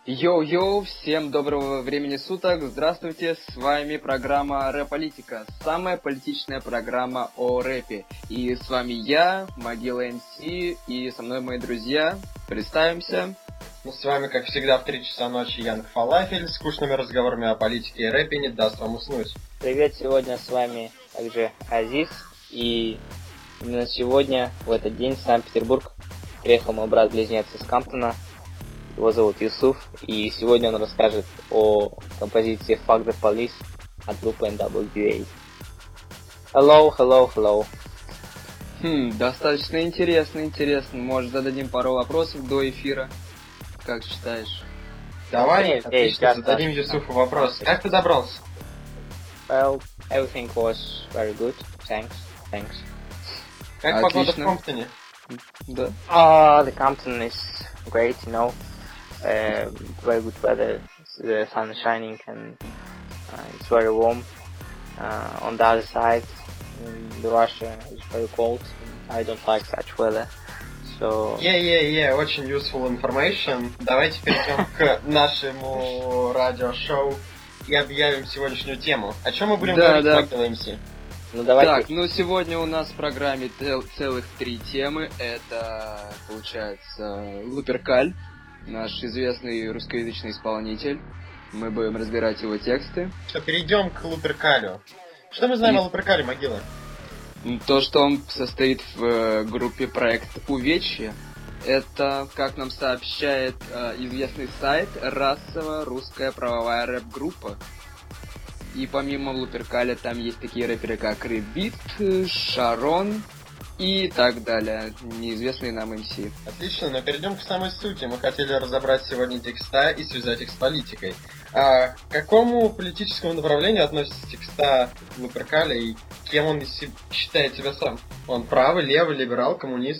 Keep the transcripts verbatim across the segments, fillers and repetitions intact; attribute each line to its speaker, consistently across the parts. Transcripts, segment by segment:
Speaker 1: Йоу-йоу, всем доброго времени суток, здравствуйте, с вами программа Рэп-политика, самая политичная программа о рэпе. И с вами я, Могила эм си, и со мной мои друзья. Представимся.
Speaker 2: Ну, с вами, как всегда, в три часа ночи Янг Фалафель, с скучными разговорами о политике и рэпе не даст вам уснуть.
Speaker 3: Привет, сегодня с вами также Азиз, и именно сегодня, в этот день, в Санкт-Петербург приехал мой брат-близнец из Камптона. Его зовут Юсуф, и сегодня он расскажет о композиции Fuck the Police от группы эн дабл ю эй. Hello, hello, hello.
Speaker 1: Хм, достаточно интересно, интересно. Может, зададим пару вопросов до эфира? Как считаешь?
Speaker 2: Давай,
Speaker 3: Эй,
Speaker 2: отлично,
Speaker 3: эй,
Speaker 2: зададим Юсуфу вопрос. Как ты добрался?
Speaker 3: Well, everything was very good. Thanks, thanks.
Speaker 2: Как
Speaker 1: Отлично.
Speaker 2: погода в Комптоне?
Speaker 1: Да.
Speaker 3: Ah, the Compton is great, you know. Uh, very good weather. The sun is shining and uh, it's very warm. Uh, on the other side, in Russia, it's very cold. I don't like such weather. So.
Speaker 2: Yeah, yeah, yeah, очень useful information. Давайте перейдем к нашему радиошоу и объявим сегодняшнюю тему. О чем мы будем
Speaker 1: Да,
Speaker 2: говорить,
Speaker 1: да.
Speaker 2: Могила эм си?
Speaker 3: Ну давайте.
Speaker 1: Так, ну сегодня у нас в программе цел- целых три темы. Это, получается, Луперкаль, наш известный русскоязычный исполнитель. Мы будем разбирать его тексты.
Speaker 2: Что, перейдем к Луперкалю. Что мы знаем
Speaker 1: И-
Speaker 2: о Луперкале, Могила?
Speaker 1: То, что он состоит в э, группе проект Увечье, это, как нам сообщает э, известный сайт, расово-русская правовая рэп-группа. И помимо Луперкаля там есть такие рэперы, как Ребит, Шарон и так далее, неизвестные нам эм си.
Speaker 2: Отлично, но перейдем к самой сути. Мы хотели разобрать сегодня текста и связать их с политикой. А к какому политическому направлению относятся текста Луперкаля и кем он си- считает себя сам? Он правый, левый, либерал, коммунист?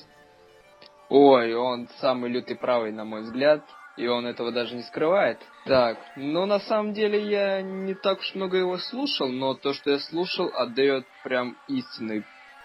Speaker 1: Ой, он самый лютый правый, на мой взгляд, и он этого даже не скрывает. Так, ну на самом деле я не так уж много его слушал, но то, что я слушал, отдает прям истинной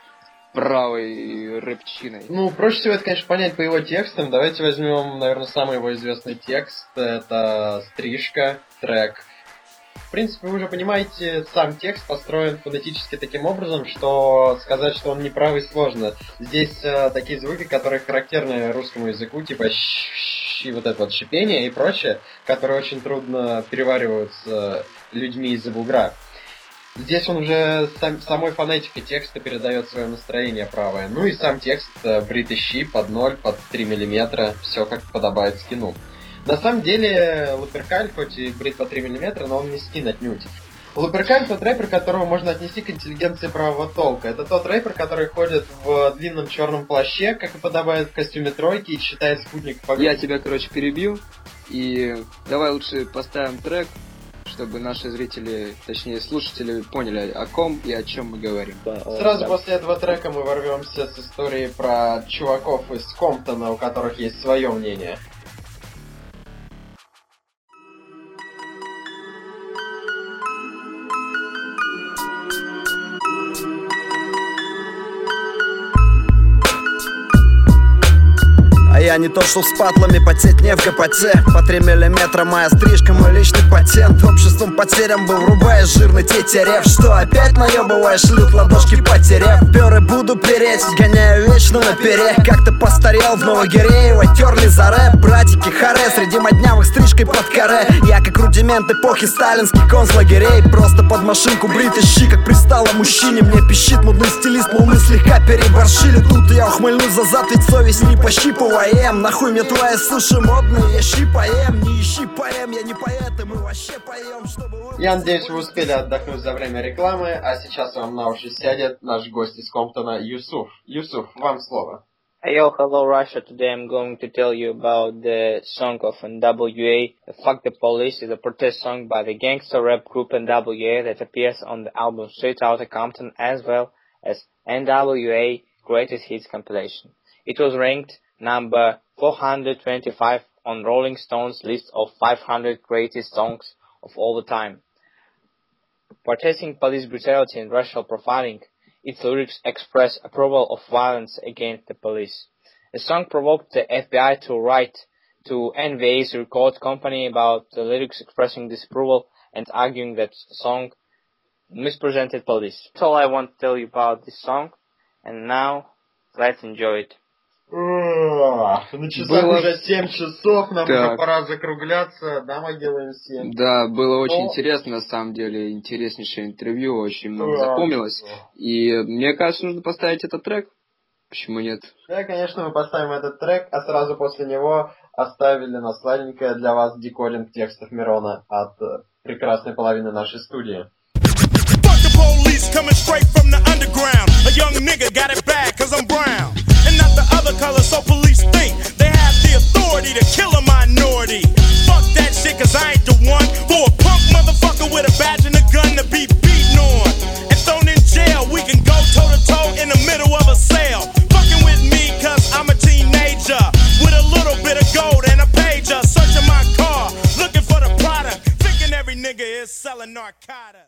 Speaker 1: правой рэпчиной.
Speaker 2: Ну, проще всего это, конечно, понять по его текстам. Давайте возьмем, наверное, самый его известный текст. Это «Стрижка», трек. В принципе, вы уже понимаете, сам текст построен фонетически таким образом, что сказать, что он неправый, сложно. Здесь э, такие звуки, которые характерны русскому языку, типа щ и вот это вот шипение и прочее, которые очень трудно перевариваются людьми из-за бугра. Здесь он уже сам, самой фонетикой текста передает свое настроение правое. Ну и сам текст э, бритый щи под ноль, под три миллиметра, все как подобает скину. На самом деле, Луперкаль, хоть и брит по три миллиметра, но он не скин отнюдь. Луперкаль тот рэпер, которого можно отнести к интеллигенции правого толка. Это тот рэпер, который ходит в длинном черном плаще, как и подобает в костюме тройки, и читает спутник по
Speaker 1: Я тебя, короче, перебил, и давай лучше поставим трек, чтобы наши зрители, точнее слушатели, поняли, о ком и о чем мы говорим.
Speaker 2: Сразу после этого трека мы ворвемся с историей про чуваков из Комптона, у которых есть свое мнение.
Speaker 4: Я не то, что с патлами потеть не в ГПТ. По три миллиметра моя стрижка, мой личный патент. Обществом потерям был, врубая жирный тетерев. Что опять наебываешь, лют ладошки потеряв. Перы буду переть, гоняю вечно на пере. Как-то постарел в Новогиреево, терли за рэп. Братики харе, среди моднявых стрижкой под каре. Я как рудимент эпохи сталинских концлагерей. Просто под машинку бритый щи, как пристало мужчине. Мне пищит модный стилист, мол мы слегка переборщили. Тут я ухмыльнусь за зад, ведь совесть не пощипывая. Нахуй мне твои суши модные, я щи поем, не ищи поэм, я не поэт, и мы вообще поем, чтобы...
Speaker 2: Я надеюсь, вы успели отдохнуть за время рекламы, а сейчас вам на уши сядет наш гость из Комптона Юсуф. Юсуф, вам слово.
Speaker 3: Hey, yo, hello Russia. Today I'm going to tell you about the song of эн дабл ю эй. Fuck the Police is a protest song by the gangster rap group эн дабл ю эй that appears on the album Straight Outta Compton as well as эн дабл ю эй Greatest Hits compilation. It was ranked number four hundred twenty-five on Rolling Stone's list of five hundred greatest songs of all the time. Protesting police brutality and racial profiling, its lyrics express approval of violence against the police. The song provoked the F B I to write to N V A's record company about the lyrics expressing disapproval and arguing that song misrepresented police. That's all I want to tell you about this song. And now, let's enjoy it.
Speaker 2: На часах
Speaker 1: Было...
Speaker 2: уже семь часов, нам
Speaker 1: так.
Speaker 2: уже пора закругляться. Да, мы делаем семь.
Speaker 1: Да, было очень
Speaker 2: Но...
Speaker 1: интересно, на самом деле, интереснейшее интервью, очень много
Speaker 2: да.
Speaker 1: запомнилось. И мне кажется, нужно поставить этот трек. Почему нет?
Speaker 2: Да, конечно, мы поставим этот трек, а сразу после него оставили на сладенькое для вас декодинг текстов Мирона от прекрасной половины нашей студии.
Speaker 5: Police coming straight from the underground. A young nigga got it bad cause I'm brown and not the other color, so police think they have the authority to kill a minority. Fuck that shit cause I ain't the one for a punk motherfucker with a badge and a gun to be beaten on and thrown in jail. We can go toe to toe in the middle of a sale. Fucking with me cause I'm a teenager with a little bit of gold and a pager. Searching my car, looking for the product, thinking every nigga is selling narcotics.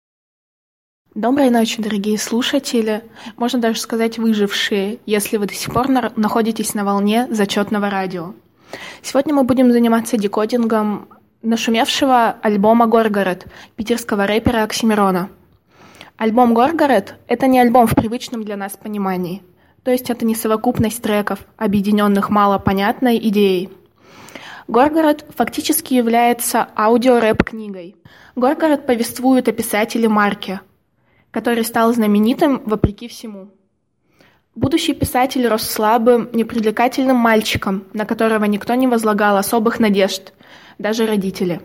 Speaker 6: Доброй ночи, дорогие слушатели, можно даже сказать выжившие, если вы до сих пор на- находитесь на волне зачетного радио. Сегодня мы будем заниматься декодингом нашумевшего альбома «Горгород» питерского рэпера Оксимирона. Альбом «Горгород» — это не альбом в привычном для нас понимании, то есть это не совокупность треков, объединенных малопонятной идеей. «Горгород» фактически является аудиорэп-книгой. «Горгород» повествует о писателе Марке, который стал знаменитым вопреки всему. Будущий писатель рос слабым, непривлекательным мальчиком, на которого никто не возлагал особых надежд, даже родители.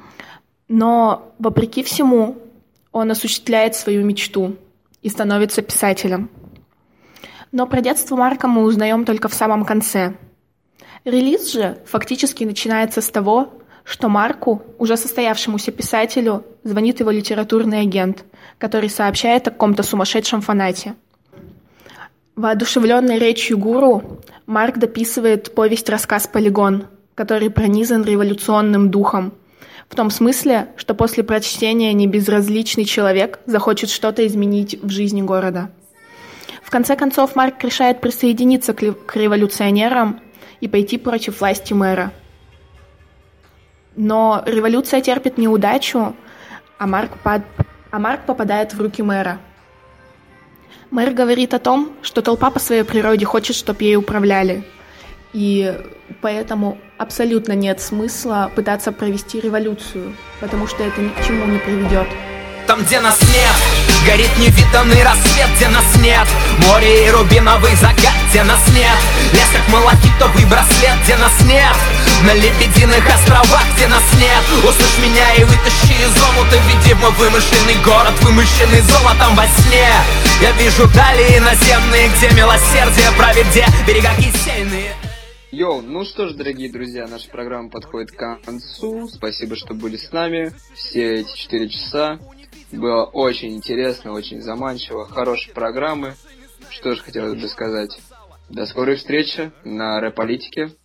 Speaker 6: Но, вопреки всему, он осуществляет свою мечту и становится писателем. Но про детство Марка мы узнаем только в самом конце. Релиз же фактически начинается с того, что Марку, уже состоявшемуся писателю, звонит его литературный агент, который сообщает о каком-то сумасшедшем фанате. Воодушевленный речью гуру, Марк дописывает повесть-рассказ «Полигон», который пронизан революционным духом, в том смысле, что после прочтения небезразличный человек захочет что-то изменить в жизни города. В конце концов, Марк решает присоединиться к революционерам и пойти против власти мэра. Но революция терпит неудачу, а Марк, пад... а Марк попадает в руки мэра. Мэр говорит о том, что толпа по своей природе хочет, чтобы ей управляли, и поэтому абсолютно нет смысла пытаться провести революцию, потому что это ни к чему не приведет.
Speaker 7: Там, где нас нет, горит невиданный рассвет, где нас нет, море и рубиновый закат, где нас нет, лес как малахитовый браслет, где нас нет, на лебединых островах, где нас нет. Услышь меня и вытащи из омута, веди в мой вымышленный город, вымышленный золотом во сне. Я вижу дали иноземные, где милосердие правит, где берега кисельные.
Speaker 1: Йоу, ну что ж, дорогие друзья, наша программа подходит к концу. Спасибо, что были с нами все эти четыре часа. Было очень интересно, очень заманчиво, хорошие программы. Что же хотелось бы сказать. До скорой встречи на Рэп-политике.